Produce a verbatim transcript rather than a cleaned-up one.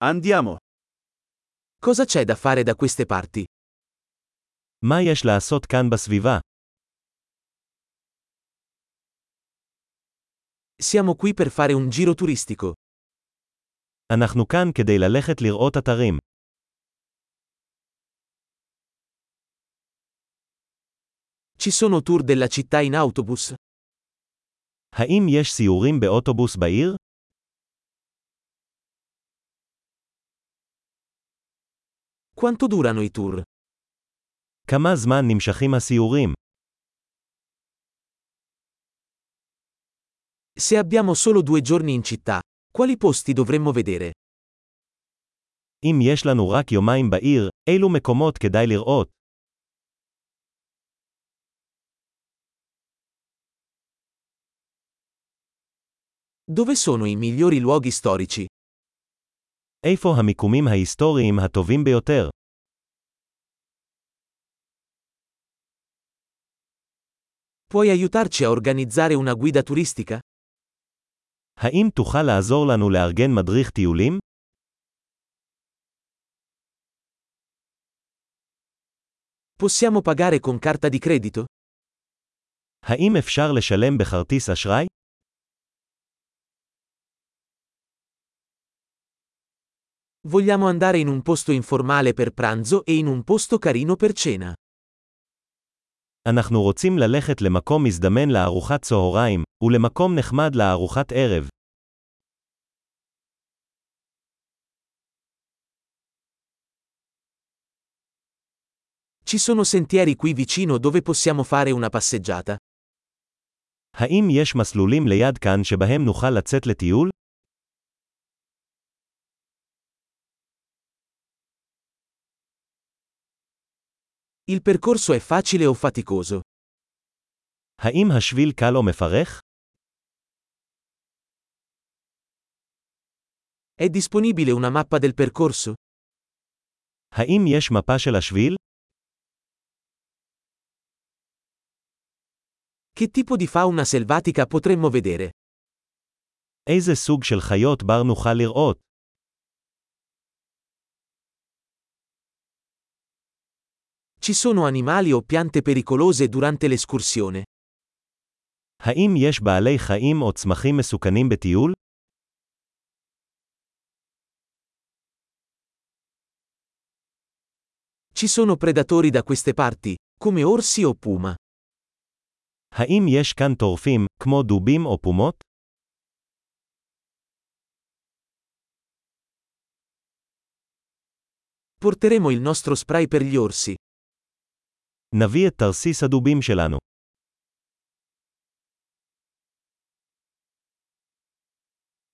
Andiamo. Cosa c'è da fare da queste parti? מה יש לעשות כאן בסביבה? Siamo qui per fare un giro turistico. אנחנו כאן כדי ללכת לראות אתרים. Ci sono tour della città in autobus? האם יש סיורים באוטובוס בעיר? Quanto durano i tour? כמה זמן נמשכים הסיורים? Se abbiamo solo due giorni in città, quali posti dovremmo vedere? אם יש לנו רק יומיים בעיר, אילו מקומות כדאי לראות? Dove sono i migliori luoghi storici? איפה המיקומים ההיסטוריים הטובים ביותר? Puoi aiutarci a organizzare una guida turistica? האם תוכל לעזור לנו לארגן מדריך טיולים? Possiamo pagare con carta di credito? האם אפשר לשלם בכרטיס אשראי? Vogliamo andare in un posto informale per pranzo e in un posto carino per cena. אנחנו רוצים ללכת למקום מזדמן לארוחת צהריים, ולמקום נחמד לארוחת ערב. Ci sono sentieri qui vicino dove possiamo fare una passeggiata? האם יש מסלולים ליד כאן שבהם נוכל לצאת לטיול? Il percorso è facile o faticoso? האם השביל קל או מפרך? È disponibile una mappa del percorso? האם יש מפה של השביל? Che tipo di fauna selvatica potremmo vedere? איזה סוג של חיות בר נוכל לראות? Ci sono animali o piante pericolose durante l'escursione? האם יש בעלי חיים או צמחים מסוכנים בטיול? Ci sono predatori da queste parti, come orsi o puma? האם יש כאן טורפים, כמו דובים או פומות? Porteremo il nostro spray per gli orsi. נביא את תרסיס הדובים שלנו.